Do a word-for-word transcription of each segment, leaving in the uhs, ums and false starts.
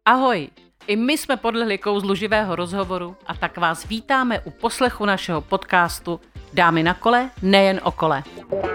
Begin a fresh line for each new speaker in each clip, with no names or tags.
Ahoj, i my jsme podlehli kouzlu živého rozhovoru a tak vás vítáme u poslechu našeho podcastu Dámy na kole, nejen o kole.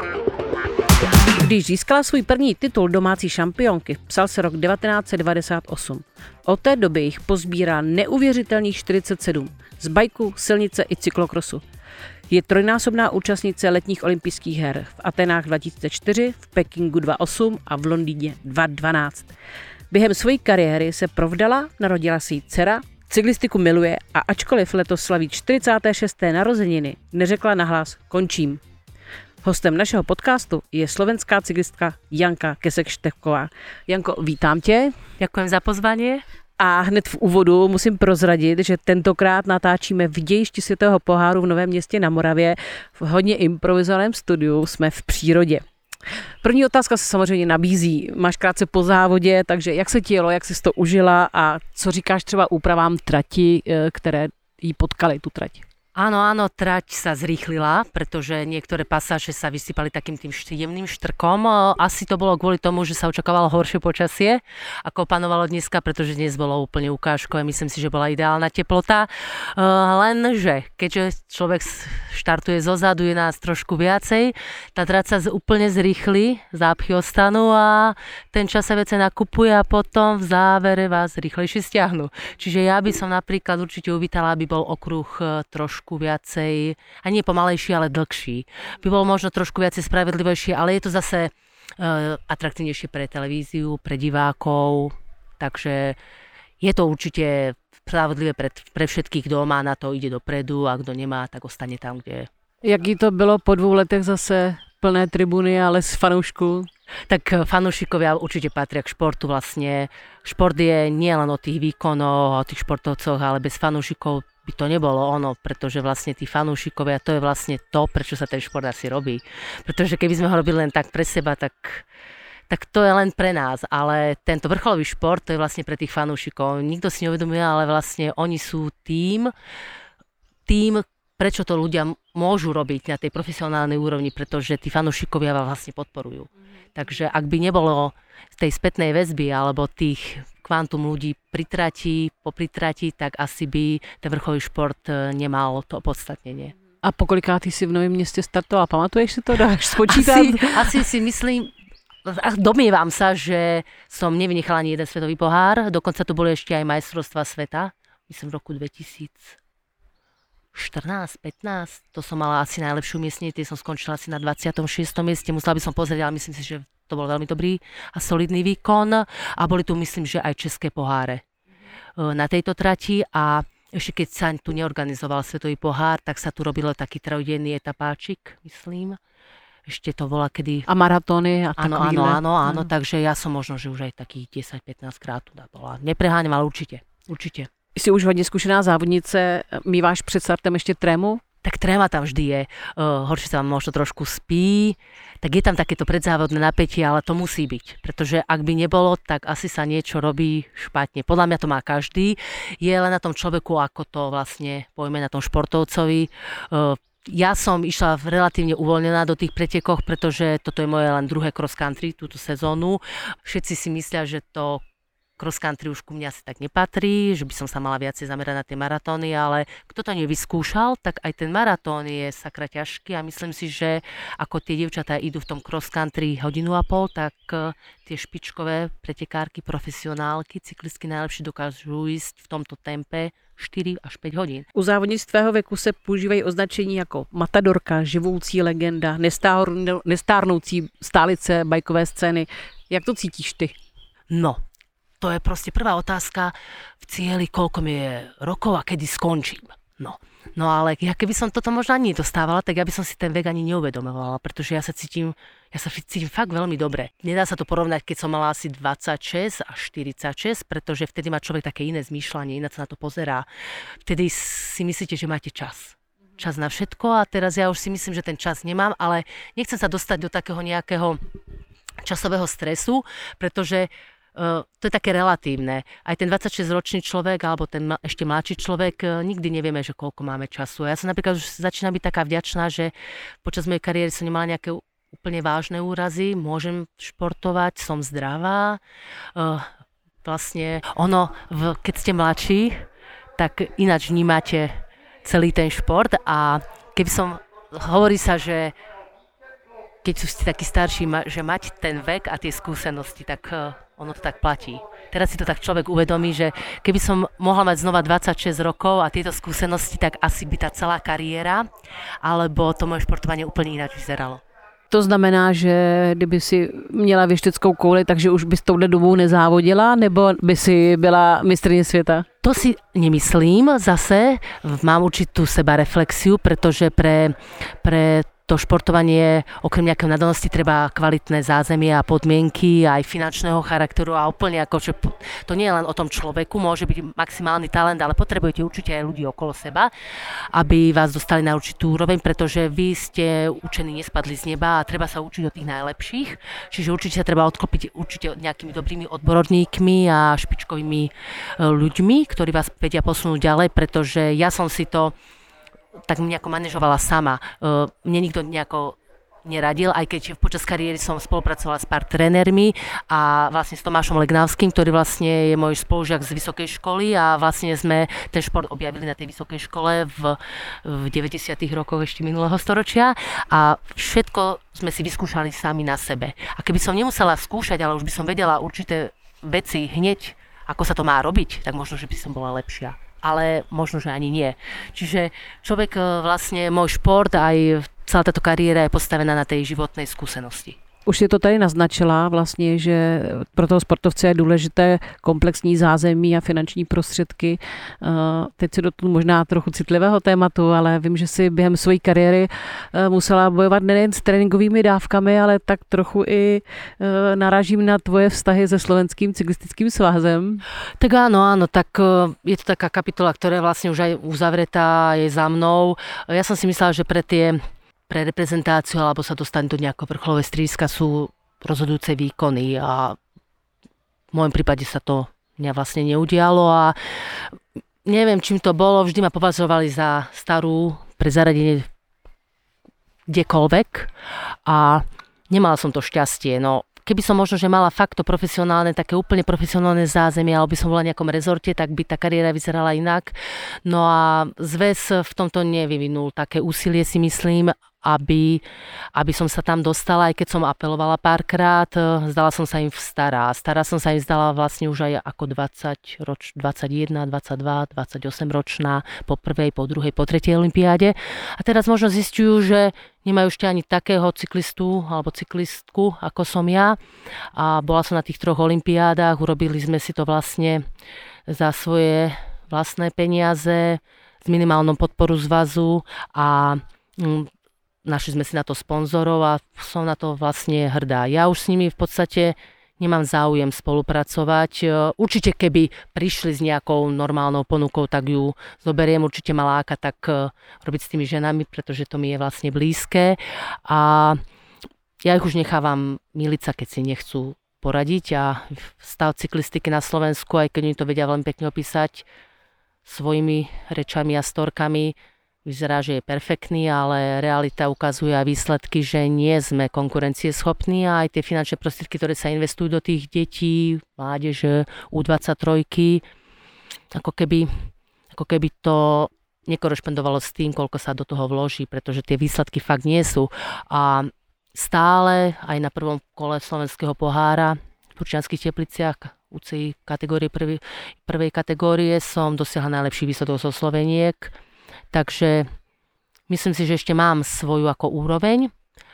Když získala svůj první titul domácí šampionky, psal se rok devatenáct set devadesát osm. Od té doby jich pozbírá neuvěřitelných čtyřicet sedm z bajku, silnice i cyklokrosu. Je trojnásobná účastnice letních olympijských her v Atenách dva tisíce čtyři, v Pekingu dva tisíce osm a v Londýně dva tisíce dvanáct. Během své kariéry se provdala, narodila si jí dcera, cyklistiku miluje a ačkoliv letos slaví čtyřicáté šesté narozeniny, neřekla nahlas končím. Hostem našeho podcastu je slovenská cyklistka Janka Kesek-Štefková. Janko, vítám tě.
Ďakujem za pozvanie.
A hned v úvodu musím prozradit, že tentokrát natáčíme v dějišti světového poháru v Novém Městě na Moravě. V hodně improvizovaném studiu jsme v přírodě. První otázka se samozřejmě nabízí. Máš krátce po závodě, takže jak se ti jelo, jak jsi to užila a co říkáš třeba úpravám trati, které jí potkaly tu trať?
Áno, áno, trať sa zrýchlila, pretože niektoré pasáže sa vysypali takým tým jemným štrkom. Asi to bolo kvôli tomu, že sa očakávalo horšie počasie, ako panovalo dneska, pretože dnes bolo úplne ukážkové. Myslím si, že bola ideálna teplota. Lenže, keďže človek štartuje zozadu, je nás trošku viacej, tá trať sa úplne zrýchli, zápchy ostanú a ten čas sa vece nakupuje a potom v závere vás rýchlejšie stiahnu. Čiže ja by som napríklad určite uvítala, aby bol okruh trošku viacej, a nie pomalejší, ale dlhší. By bol možno trošku viacej spravedlivejší, ale je to zase uh, atraktívnejšie pre televíziu, pre divákov, takže je to určite spravedlivé pre, pre všetkých, kto má na to, ide dopredu a kto nemá, tak ostane tam, kde je.
Jaký to bylo po dvou letech zase plné tribuny, ale z fanoušků?
Tak fanúšikovia určite patria k športu vlastne. Šport je nielen o tých výkonoch, o tých športovcoch, ale bez fanúšikov by to nebolo ono, pretože vlastne tí fanúšikovia, to je vlastne to, prečo sa ten šport asi robí. Pretože keby sme ho robili len tak pre seba, tak, tak to je len pre nás. Ale tento vrcholový šport, to je vlastne pre tých fanúšikov. Nikto si neuvedomuje, ale vlastne oni sú tým, tým, prečo to ľudia môžu robiť na tej profesionálnej úrovni, pretože tí fanúšikovia vás vlastne podporujú. Takže ak by nebolo tej spätnej väzby alebo tých kvantum ľudí pri trati, po pritrati, tak asi by ten vrcholový šport nemal to opodstatnenie.
A pokolikátý si v Novém Městě startoval? Pamatuješ si to? Dáš spočítat?
Asi, asi si myslím, domnievam sa, že som nevynechala ani jeden svetový pohár. Dokonca tu boli ešte aj majstrovstvá sveta. Myslím v roku dvetisícštrnásť pätnásť. To som mala asi najlepšiu miestne, tie som skončila asi na dvadsiatom šiestom mieste. Musela by som pozrieť, ale myslím si, že to bol veľmi dobrý a solidný výkon. A boli tu, myslím, že aj české poháre na tejto trati. A ešte keď sa tu neorganizoval svetový pohár, tak sa tu robilo taký trojdenný etapáčik, myslím. Ešte to bola kedy...
A maratóny a
áno,
takovýhle.
Áno, áno, áno, mm. takže ja som možno, že už aj takých desať pätnásť krát tu bola. Nepreháňam, ale určite, určite.
Jsi už hodně zkušená závodnice, míváš před startem ještě trému?
Tak tréma tam vždy je, uh, horšie sa vám možno trošku spí, tak je tam takéto predzávodné napätie, ale to musí byť, pretože ak by nebolo, tak asi sa niečo robí špatne. Podľa mňa to má každý, je len na tom človeku, ako to vlastne pojme na tom športovcovi. Uh, Ja som išla relatívne uvoľnená do tých pretekoch, pretože toto je moje len druhé cross country túto sezónu. Všetci si myslia, že to cross country už ku mne asi tak nepatrí, že by som sa mala viacej zamerať na tie maratóny, ale kto to nevyskúšal, tak aj ten maratón je sakra ťažký a myslím si, že ako tie dievčatá idú v tom cross country hodinu a pol, tak tie špičkové pretekárky, profesionálky, cyklistky najlepšie dokážu ísť v tomto tempe štyri až päť hodín.
U závodnic tvého věku se používají označení jako matadorka, živoucí legenda, nestárnoucí stálice bajkové scény. Jak to cítíš ty?
No, to je proste prvá otázka v cieli, koľko mi je rokov a kedy skončím. No, no ale ja keby som toto možno ani dostávala, tak ja by som si ten vek ani neuvedomovala, pretože ja sa cítim, ja sa cítim fakt veľmi dobre. Nedá sa to porovnať, keď som mala asi dvadsaťšesť až štyridsaťšesť, pretože vtedy má človek také iné zmýšľanie, ináč sa na to pozerá. Vtedy si myslíte, že máte čas. Čas na všetko a teraz ja už si myslím, že ten čas nemám, ale nechcem sa dostať do takého nejakého časového stresu, pretože Uh, to je také relatívne. Aj ten dvadsaťšesťročný človek alebo ten ma- ešte mladší človek, uh, nikdy nevieme, že koľko máme času. Ja som napríklad už začínam byť taká vďačná, že počas mojej kariéry som nemala nejaké úplne vážne úrazy, môžem športovať, som zdravá. Uh, vlastne ono, v, keď ste mladší, tak ináč vnímate celý ten šport a keby som, hovorí sa, že keď ste takí starší, že mať ten vek a tie skúsenosti, tak ono to tak platí. Teraz si to tak človek uvedomí, že keby som mohla mať znova dvadsaťšesť rokov a tieto skúsenosti, tak asi by tá celá kariéra alebo to moje športovanie úplne ináč vyzeralo.
To znamená, že kdyby si měla věšteckou kouli, takže už bys touhle dobou nezávodila, nebo by si byla mistryně světa?
To si nemyslím zase. Mám určitú sebareflexiu, pretože pre, pre to športovanie, okrem nejakej nadanosti, treba kvalitné zázemie a podmienky, aj finančného charakteru a úplne ako, že to nie je len o tom človeku, môže byť maximálny talent, ale potrebujete určite aj ľudí okolo seba, aby vás dostali na určitú úroveň, pretože vy ste učení, nespadli z neba a treba sa učiť od tých najlepších, čiže určite sa treba odklopiť určite nejakými dobrými odborníkmi a špičkovými ľuďmi, ktorí vás vedia posunúť ďalej, pretože ja som si to tak nejako manažovala sama. Mne nikto nejako neradil, aj keď počas kariéry som spolupracovala s pár trénermi a vlastne s Tomášom Legnavským, ktorý vlastne je môj spolužiak z vysokej školy a vlastne sme ten šport objavili na tej vysokej škole v, v deväťdesiatych rokoch ešte minulého storočia a všetko sme si vyskúšali sami na sebe. A keby som nemusela skúšať, ale už by som vedela určité veci hneď, ako sa to má robiť, tak možno, že by som bola lepšia. Ale možno, že ani nie. Čiže človek vlastne, môj šport, aj celá táto kariéra je postavená na tej životnej skúsenosti.
Už si to tady naznačila vlastně, že pro toho sportovce je důležité komplexní zázemí a finanční prostředky. Teď si dotknu možná trochu citlivého tématu, ale vím, že si během své kariéry musela bojovat nejen s tréninkovými dávkami, ale tak trochu i narážím na tvoje vztahy se Slovenským cyklistickým svazem.
Tak áno, áno, tak je to taká kapitola, ktorá je vlastne už aj uzavretá, je za mnou. Ja som si myslela, že pre tie pre reprezentáciu alebo sa dostať do nejakého vrcholového strediska sú rozhodujúce výkony a v môjom prípade sa to mňa vlastne neudialo a neviem, čím to bolo, vždy ma považovali za starú pre zaradenie kdekoľvek a nemala som to šťastie. No, keby som možno, že mala fakt to profesionálne, také úplne profesionálne zázemie, alebo by som bola v nejakom rezorte, tak by tá kariéra vyzerala inak. No a zväz v tomto nevyvinul také úsilie, si myslím, aby, aby som sa tam dostala, aj keď som apelovala párkrát, zdala som sa im stará. Stará som sa im zdala vlastne už aj ako dvadsať roč, dvadsaťjeden, dvadsaťdva, dvadsaťosem ročná po prvej, po druhej, po tretej olympiáde. A teraz možno zistujú, že nemajú ešte ani takého cyklistu alebo cyklistku, ako som ja. A bola som na tých troch olympiádach, urobili sme si to vlastne za svoje vlastné peniaze, s minimálnou podporu zväzu a mm, našli sme si na to sponzorov a som na to vlastne hrdá. Ja už s nimi v podstate nemám záujem spolupracovať. Určite keby prišli s nejakou normálnou ponukou, tak ju zoberiem. Určite ma láka tak robiť s tými ženami, pretože to mi je vlastne blízke. A ja ich už nechávam miliť sa, keď si nechcú poradiť. A stav cyklistiky na Slovensku, aj keď oni to vedia veľmi pekne opísať svojimi rečami a storkami, vyzerá, že je perfektný, ale realita ukazuje a výsledky, že nie sme konkurencieschopní a aj tie finančné prostriedky, ktoré sa investujú do tých detí, mládeže, ú dvadsaťtri, ako keby, ako keby to nekorešpondovalo s tým, koľko sa do toho vloží, pretože tie výsledky fakt nie sú. A stále aj na prvom kole slovenského pohára v Turčianskych Tepliciach ú cé í kategórie prvej, prvej kategórie som dosiahla najlepší výsledok zo Sloveniek. Takže myslím si, že ešte mám svoju ako úroveň.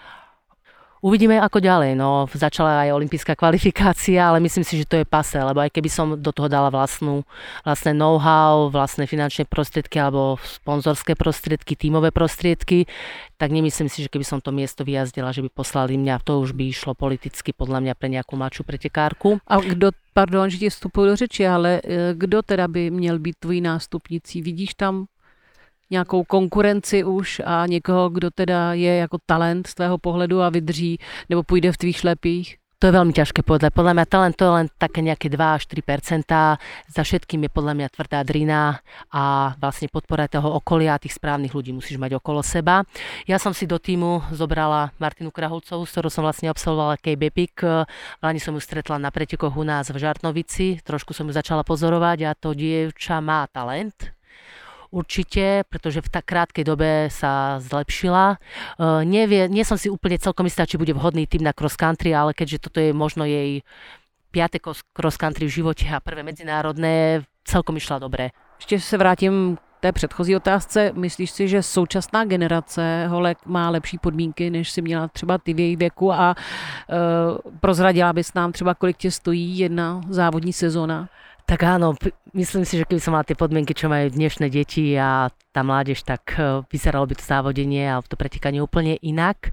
Uvidíme ako ďalej. No, začala aj olympijská kvalifikácia, ale myslím si, že to je pase, lebo aj keby som do toho dala vlastnú, vlastné know-how, vlastné finančné prostriedky alebo sponzorské prostriedky, tímové prostriedky, tak nemyslím si, že keby som to miesto vyjazdila, že by poslali mňa, to už by išlo politicky podľa mňa pre nejakú mladšiu pretekárku.
A kdo, pardon, že ti vstupuju do řeči, ale kdo teda by měl být tvojí nástupnicí? Vidíš tam nějakou konkurenci už a někoho, kdo teda je jako talent z tvého pohledu a vydrží nebo půjde v tvých šlepích?
To je veľmi ťažké povedať. Podľa mňa talent to je len také nejaké dva až tri percentá. Za všetkým je podľa mňa tvrdá drina a vlastne podpora toho okolia a tých správnych ľudí musíš mať okolo seba. Ja som si do týmu zobrala Martinu Krahulcovú, s ktorou som vlastne absolvovala K B P I C. Vláni som ju stretla na pretekoch u nás v Žartnovici. Trošku som ju začala pozorovať a to dievča má talent. Určite, pretože v tak krátkej dobe sa zlepšila. Uh, nevie, nie som si úplne celkom istá, či bude vhodný tým na cross country, ale keďže toto je možno jej piate cross country v živote a prvé medzinárodné, celkom išla dobre.
Ještě se vrátím k té předchozí otázce. Myslíš si, že současná generace holek má lepší podmínky, než si měla třeba ty v její věku a uh, prozradila bys nám třeba, kolik tě stojí jedna závodní sezóna?
Tak áno, myslím si, že keby som mala tie podmienky, čo majú dnešné deti a tá mládež, tak vyzeralo by to závodenie a to pretekanie úplne inak.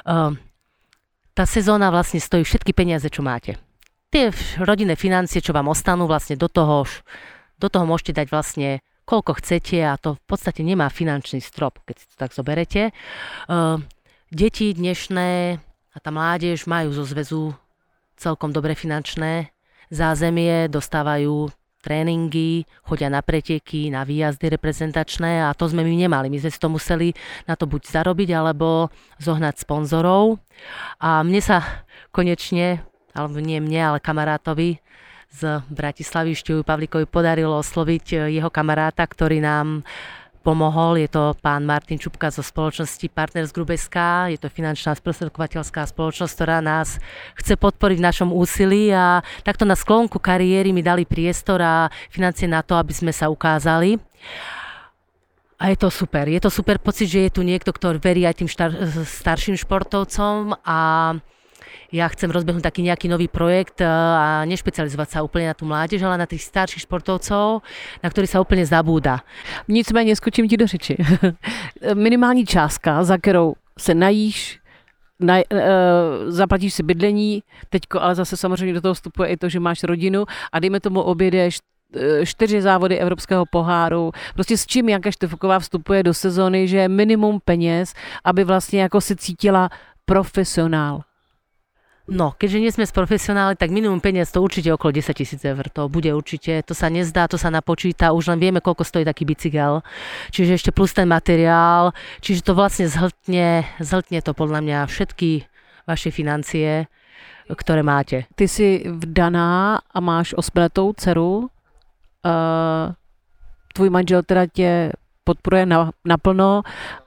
Tá sezóna vlastne stojí všetky peniaze, čo máte. Tie rodinné financie, čo vám ostanú, vlastne do toho, do toho môžete dať vlastne koľko chcete a to v podstate nemá finančný strop, keď si to tak zoberete. Deti dnešné a tá mládež majú zo zväzu celkom dobre finančné zázemie, dostávajú tréningy, chodia na preteky, na výjazdy reprezentačné a to sme my nemali. My sme si to museli na to buď zarobiť, alebo zohnať sponzorov. A mne sa konečne, alebo nie mne, ale kamarátovi z Bratislavy, Števu Pavlíkovi, podarilo osloviť jeho kamaráta, ktorý nám pomohol. Je to pán Martin Čupka zo spoločnosti Partners Group es ká. Je to finančná sprostredkovateľská spoločnosť, ktorá nás chce podporiť v našom úsilí a takto na sklonku kariéry mi dali priestor a financie na to, aby sme sa ukázali. A je to super. Je to super pocit, že je tu niekto, kto verí aj tým štar- starším športovcom a ja chcem rozbehnúť taký nejaký nový projekt a nešpecializovať sa úplne na tú mládež, ale na tých starších športovcov, na ktorých sa úplne zabúda.
Nicméně skočím ti do řeči. Minimální částka, za kterou se najíš, na, uh, zaplatíš si bydlení, teďko ale zase samozřejmě do toho vstupuje i to, že máš rodinu a dejme tomu objedeš čtyři závody Evropského poháru. Prostě s čím Janka Štefuková vstupuje do sezóny, že je minimum peněz, aby vlastně jako se cítila profesionál.
No, keďže nie sme z profesionáli, tak minimum peniaz to určite okolo desaťtisíc eur. To bude určite, to sa nezdá, to sa napočíta, už len vieme, koľko stojí taký bicykel. Čiže ešte plus ten materiál, čiže to vlastne zhltne, zhltne to podľa mňa všetky vaše financie, ktoré máte.
Ty si vdaná a máš osmiletou dceru. Uh, tvůj manžel teda tě podporuje na, naplno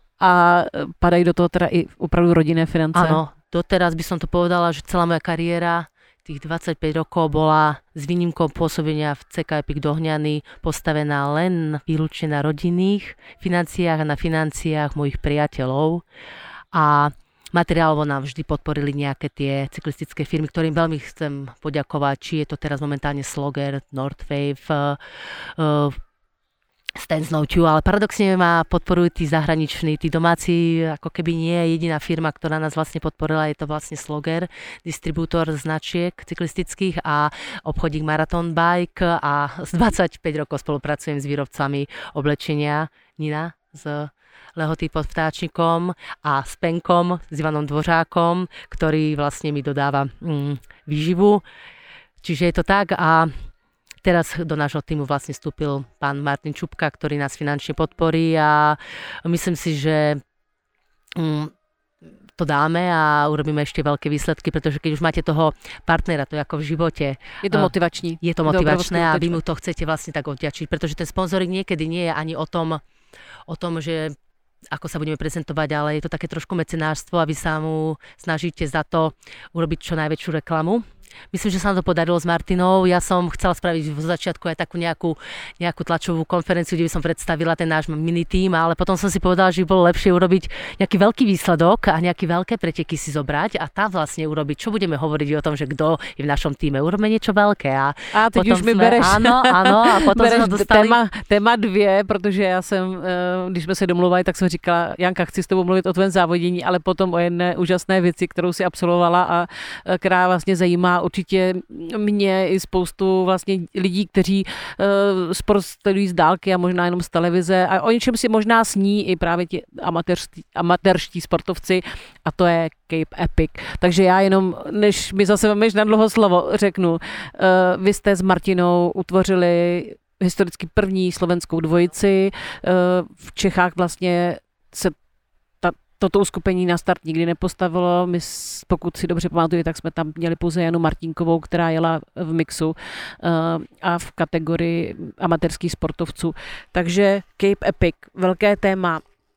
a padají do toho teda i opravdu rodinné finance.
Áno. Doteraz by som to povedala, že celá moja kariéra, tých dvadsaťpäť rokov, bola s výnimkou pôsobenia v cé ká Epic Dohňany postavená len výlučne na rodinných financiách a na financiách mojich priateľov. A materiálovo nám vždy podporili nejaké tie cyklistické firmy, ktorým veľmi chcem poďakovať, či je to teraz momentálne Slogger, Northwave, uh, Stan Snowtube, ale paradoxne ma podporujú tí zahraniční, tí domáci, ako keby nie je jediná firma, ktorá nás vlastne podporila, je to vlastne Slogger, distribútor značiek cyklistických a obchodík Marathon Bike a z dvadsaťpäť rokov spolupracujem s výrobcami oblečenia Nina z Lehoty pod Vtáčnikom a s Penkom, s Ivanom Dvořákom, ktorý vlastne mi dodáva mm, výživu. Čiže je to tak a teraz do nášho týmu vlastne vstúpil pán Martin Čupka, ktorý nás finančne podporí a myslím si, že mm, to dáme a urobíme ešte veľké výsledky, pretože keď už máte toho partnera, to je ako v živote.
Je to motivační.
Je to motivačné a vy mu to chcete vlastne tak odďačiť, pretože ten sponzoring niekedy nie je ani o tom, o tom, že ako sa budeme prezentovať, ale je to také trošku mecenárstvo a vy sa mu snažíte za to urobiť čo najväčšiu reklamu. Myslím, že sa nám to podarilo s Martinou. Ja som chcela spraviť v začiatku aj takú nejakú, nejakú tlačovú konferenciu, kde by som predstavila ten náš mini tím, ale potom som si povedala, že by bolo lepšie urobiť nejaký veľký výsledok a nejaké veľké preteky si zobrať a tam vlastne urobiť, čo budeme hovoriť o tom, že kto je v našom týme. Urobíme niečo veľké. A,
a teď už mi
sme,
bereš,
áno, áno, a potom
bereš
sme dostali
téma, téma dvě, protože já jsem, když jsme se domluvali, tak jsem říkala, Janka, chci s tebou mluvit o tvém závodění, ale potom o jedné úžasné věci, kterou si absolvovala a která vlastně zajímá určitě mě i spoustu vlastně lidí, kteří uh, sport sledují z dálky a možná jenom z televize a o něčem si možná sní i právě ti amatérští, amatérští sportovci a to je Cape Epic. Takže já jenom, než mi zase vemeš na dlouho slovo, řeknu, uh, vy jste s Martinou utvořili historicky první slovenskou dvojici. V Čechách vlastně se ta, toto uskupení na start nikdy nepostavilo. My, pokud si dobře pamatuju, tak jsme tam měli pouze Janu Martinkovou, která jela v mixu a v kategorii amatérských sportovců. Takže Cape Epic, velké téma.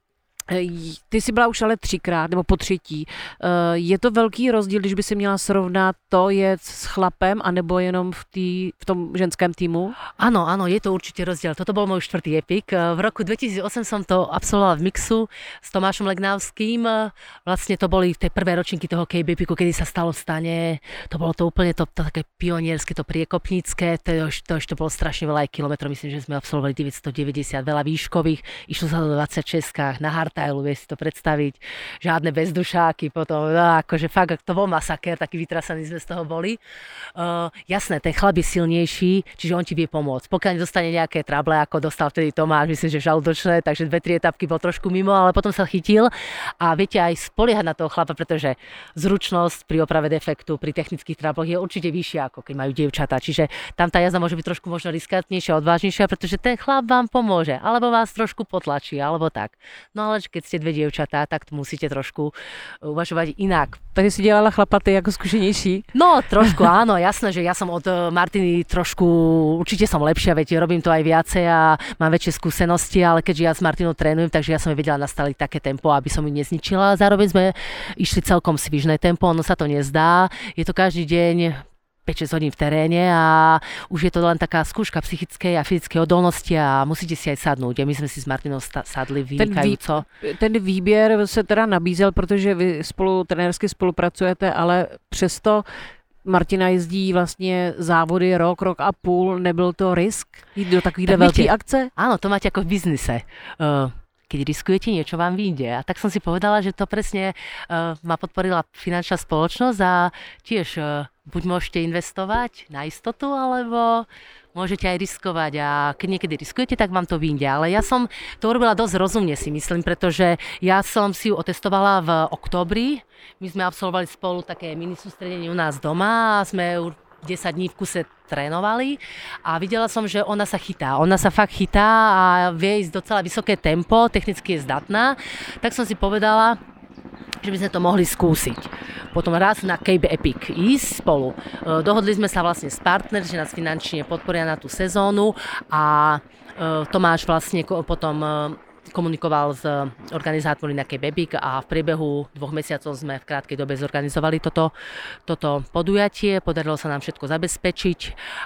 Ty jsi byla už ale třikrát, nebo po třetí. Je to velký rozdíl, když by si měla srovnat to jet s chlapem, anebo jenom v, tý, v tom ženském týmu?
Áno, áno, je to určite rozdiel. Toto bol môj štvrtý epik. V roku dvetisícosem som to absolvovala v mixu s Tomášom Legnavským. Vlastne to boli tie prvé ročníky toho Cape Epiku, kedy sa stalo v stane. To bolo to úplne to, to také pionierské, to priekopnícke. To, to ešte bolo strašne veľa kilometrov. Myslím, že sme absolvovali deväťstodeväťdesiat, veľa výškových. Išlo sa do dvadsaťšesť na hard tajlu, vieš si to predstaviť, žiadne bezdušáky, potom, no, akože fakt, to bol masakér, taký vytrasaný sme z toho boli. Uh, jasné, ten chlap je silnejší, čiže on ti vie pomôcť. Pokiaľ nedostane nejaké trable, ako dostal vtedy Tomáš, myslím, že žalúdočné, takže dve, tri etapky bol trošku mimo, ale potom sa chytil a viete aj spoliehať na toho chlapa, pretože zručnosť pri oprave defektu, pri technických trabloch je určite vyššia, ako keď majú dievčatá, čiže tam tá jazda môže byť trošku možno riskantnejšia, odvážnejšia, pretože ten chlap vám pomôže, alebo vás trošku potlačí, alebo tak. No ale keď ste dve dievčatá, tak musíte trošku uvažovať inak.
Takže si dělala chlapaty ako skúšenejší?
No, trošku áno, jasné, že ja som od Martiny trošku, určite som lepšia, veď robím to aj viacej a mám väčšie skúsenosti, ale keďže ja s Martinou trénujem, takže ja som jej vedela nastaviť také tempo, aby som ju nezničila. Zároveň sme išli celkom svižné tempo, ono sa to nezdá. Je to každý deň päť šesť hodín v teréne a už je to len taká skúška psychickej a fyzickej odolnosti a musíte si aj sadnúť. A my sme si s Martinou sadli vynikajúco.
Ten, vý, ten výběr se teda nabízel, protože vy spolu trenérsky spolupracujete, ale přesto Martina jezdí vlastně závody rok, rok a půl. Nebyl to risk jít do takovýhle velké akce?
Áno, to máte ako v biznise. Uh, keď riskujete, niečo vám vyjde. A tak som si povedala, že to presne uh, ma podporila finančná spoločnosť a tiež uh, buď môžete investovať na istotu, alebo môžete aj riskovať a keď niekedy riskujete, tak vám to vyjde. Ale ja som to urobila dosť rozumne, si myslím, pretože ja som si ju otestovala v októbri. My sme absolvovali spolu také mini sústredenie u nás doma a sme desať dní v kuse trénovali a videla som, že ona sa chytá. Ona sa fakt chytá a vie ísť docela vysoké tempo, technicky je zdatná. Tak som si povedala, že by sme to mohli skúsiť. Potom raz na Cape Epic ísť spolu. Dohodli sme sa vlastne s partner, že nás finančne podporia na tú sezónu a Tomáš vlastne potom komunikoval s organizátormi na Cape Epic a v priebehu dvoch mesiacov sme v krátkej dobe zorganizovali toto, toto podujatie. Podarilo sa nám všetko zabezpečiť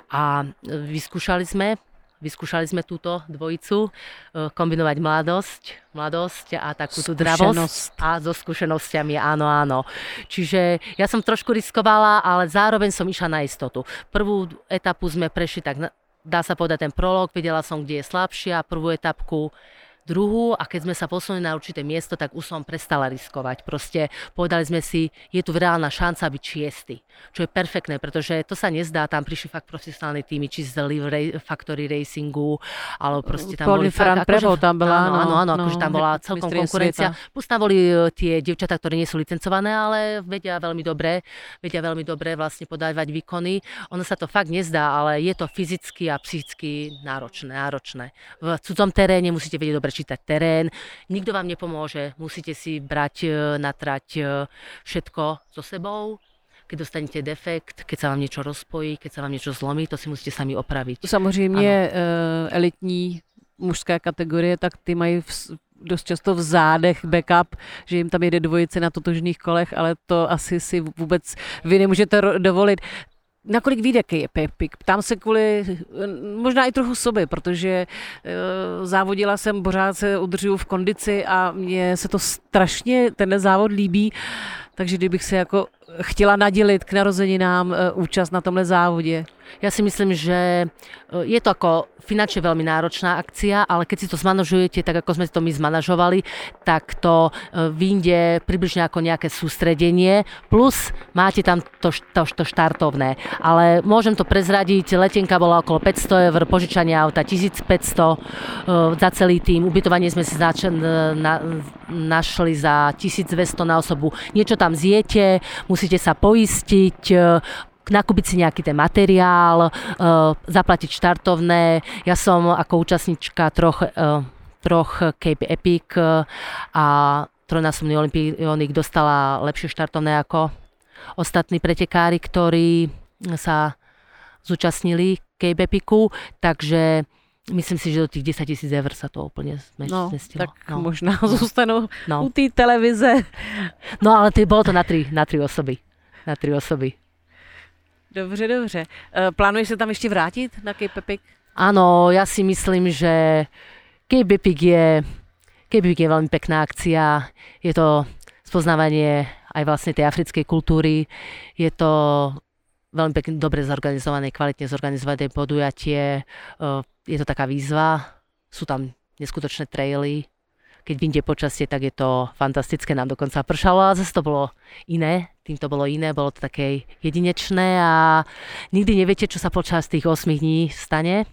a vyskúšali sme Vyskúšali sme túto dvojicu, kombinovať mladosť, mladosť a takú tú dravosť a so skúsenosťami, áno, áno. Čiže ja som trošku riskovala, ale zároveň som išla na istotu. Prvú etapu sme prešli, tak dá sa povedať ten prolog, vedela som, kde je slabšia, prvú etapku, druhú a keď sme sa posunuli na určité miesto, tak už som prestala riskovať. Proste povedali sme si, je tu reálna šanca byť šiesty, čo je perfektné, pretože to sa nezdá, tam prišli fakt profesionálne týmy, či z Live Factory Racingu, alebo proste tam boli fakt,
akože, tam bola,
áno, áno, áno,
no,
akože tam bola celkom konkurencia. Sveta. Plus tam boli tie dievčatá, ktoré nie sú licencované, ale vedia veľmi dobre, vedia veľmi dobre vlastne podávať výkony. Ono sa to fakt nezdá, ale je to fyzicky a psychicky náročné, náročné. V cudzom teréne musíte vedieť dobre čítať terén, nikto vám nepomôže, musíte si brať na trať všetko so sebou. Keď dostanete defekt, keď sa vám niečo rozpojí, keď sa vám niečo zlomí, to si musíte sami opraviť.
Samozřejmě uh, elitní mužské kategorie, tak ty mají v, dost často v zádech backup, že jim tam jede dvojice na totožných kolech, ale to asi si vůbec vy nemůžete ro- dovolit. Nakolik vyjde Cape Epic? Ptám se kvůli možná i trochu sobě, protože uh, závodila jsem, pořád se udržuju v kondici a mně se to strašně, tenhle závod líbí, takže kdybych se jako chtěla nadělit k narozeninám účast na tomhle závodě?
Ja si myslím, že je to ako finančne veľmi náročná akcia, ale keď si to zmanažujete, tak ako sme to my zmanažovali, tak to vyjde približne ako nejaké sústredenie, plus máte tam to, to, to štartovné. Ale môžem to prezradiť, letenka bola okolo päťsto eur, požičanie auta tisícpäťsto za celý tým, ubytovanie sme si zač- na, našli za tisícdvesto na osobu. Niečo tam zjete, musíte sa poistiť, nakúpiť si nejaký ten materiál, uh, zaplatiť štartovné. Ja som ako účastníčka troch, uh, troch Cape Epic uh, a trojnásobný olympionik dostala lepšie štartovné ako ostatní pretekári, ktorí sa zúčastnili Cape Epicu, takže myslím si, že do tých desaťtisíc eur sa to úplne zmestilo.
No, tak
no.
možná no. zostanú
no.
u té televize.
No ale to, bolo to na tri, na tri osoby. Na tri osoby.
Dobře, dobře. Plánuješ se tam ještě vrátit na Cape Epic?
Áno, ja si myslím, že Cape Epic je, Cape Epic je veľmi pekná akcia. Je to spoznávanie aj vlastne tej africkej kultúry. Je to veľmi pekne, dobre zorganizované, kvalitne zorganizované podujatie. Je to taká výzva. Sú tam neskutočné traily. Keď vyjde počasie, tak je to fantastické. Nám dokonca pršalo, ale zase to bolo iné. Tým to bolo iné, bolo to také jedinečné a nikdy neviete, čo sa počas tých osem dní stane.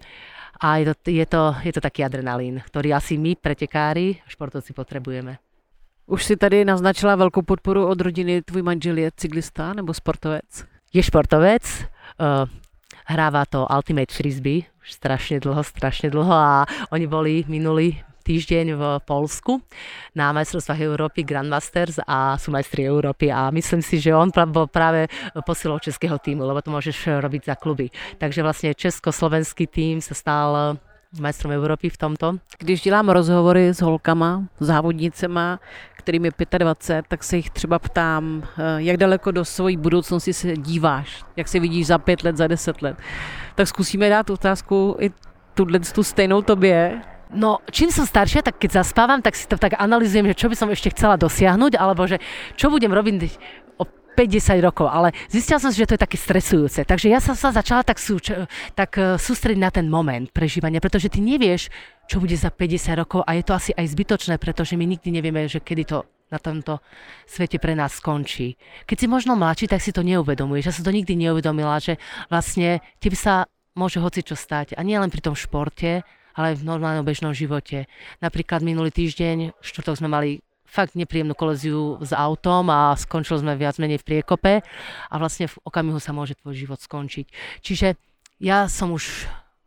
A je to, je to, je to taký adrenalín, ktorý asi my, pretekári, športovci potrebujeme.
Už si tady naznačila velkou podporu od rodiny. Tvůj manžel je cyklista nebo sportovec?
Je športovec. Uh, hráva to Ultimate Frisbee už strašne dlho, strašne dlho a oni boli minulý týždeň v Poľsku na majstrovstvách Európy Grandmasters a sú majstri Európy a myslím si, že on bol práve posilou českého týmu, lebo to môžeš robiť za kluby. Takže vlastne československý tým sa stal majstrom Európy v tomto.
Když dělám rozhovory s holkama, závodnicema, kterým je dvacet pět, tak se jich třeba ptám, jak daleko do svojí budoucnosti se díváš, jak se vidíš za pět let, za deset let. Tak zkusíme dát otázku i tuhle tu stejnou tobě.
No, čím som staršia, tak keď zaspávam, tak si to tak analyzujem, že čo by som ešte chcela dosiahnuť, alebo že čo budem robiť o päť desať rokov, ale zistila som si, že to je také stresujúce. Takže ja som sa začala tak, sú, tak sústrediť na ten moment prežívania, pretože ty nevieš, čo bude za päťdesiat rokov a je to asi aj zbytočné, pretože my nikdy nevieme, že kedy to na tomto svete pre nás skončí. Keď si možno mladší, tak si to neuvedomuješ. Ja som to nikdy neuvedomila, že vlastne tebe sa môže hocičo stať. A nie len pri tom športe, ale aj v normálnom bežnom živote. Napríklad minulý týždeň, štvrtok sme mali fakt nepríjemnú kolíziu s autom a skončili sme viac menej v priekope a vlastne v okamihu sa môže tvoj život skončiť. Čiže ja som už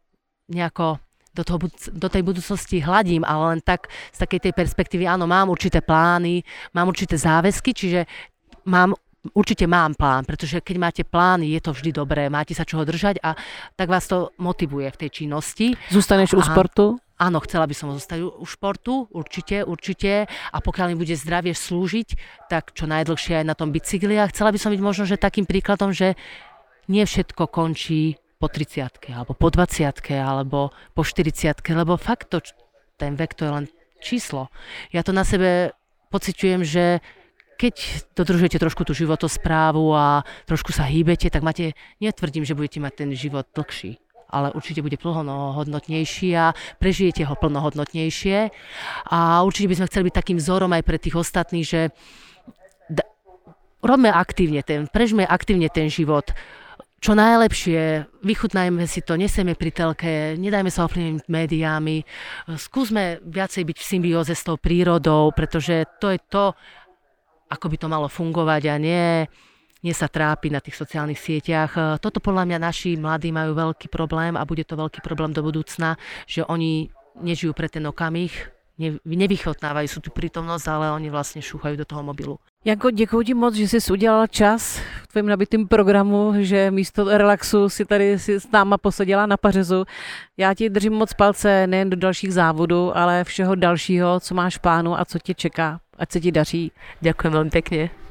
nejako do, toho, do tej budúcnosti hladím, ale len tak z takej tej perspektívy, áno, mám určité plány, mám určité záväzky, čiže mám Určite mám plán, pretože keď máte plán, je to vždy dobré, máte sa čoho držať a tak vás to motivuje v tej činnosti.
Zostaneš u sportu?
Áno, chcela by som zostať u športu, určite, určite. A pokiaľ mi bude zdravie slúžiť, tak čo najdlhšie aj na tom bicykli. A chcela by som byť možno, že takým príkladom, že nie všetko končí po tridsiatke, alebo po dvadsiatke, alebo po štyridsiatke, lebo fakt to, ten vek to je len číslo. Ja to na sebe pociťujem, že keď dodržujete trošku tú životosprávu a trošku sa hýbete, tak máte, netvrdím, že budete mať ten život dlhší, ale určite bude plnohodnotnejší a prežijete ho plnohodnotnejšie. A určite by sme chceli byť takým vzorom aj pre tých ostatných, že da, robme aktívne ten, prežme aktívne ten život. Čo najlepšie, vychutnajme si to, neseme pri telke, nedajme sa ovplyvniť médiami, skúsme viacej byť v symbióze s tou prírodou, pretože to je to, ako by to malo fungovať a nie, nie sa trápiť na tých sociálnych sieťach. Toto podľa mňa naši mladí majú veľký problém a bude to veľký problém do budúcna, že oni nežijú pre ten okamih, ne, nevychotnávajú sú tu prítomnosť, ale oni vlastne šúchajú do toho mobilu.
Janko, děkuji ti moc, že jsi udělala čas v tvém nabitém programu, že místo relaxu si tady si s náma posadila na pařezu. Já ti držím moc palce nejen do dalších závodů, ale všeho dalšího, co máš v plánu a co tě čeká. Ať se ti daří.
Ďakujem veľmi pekne.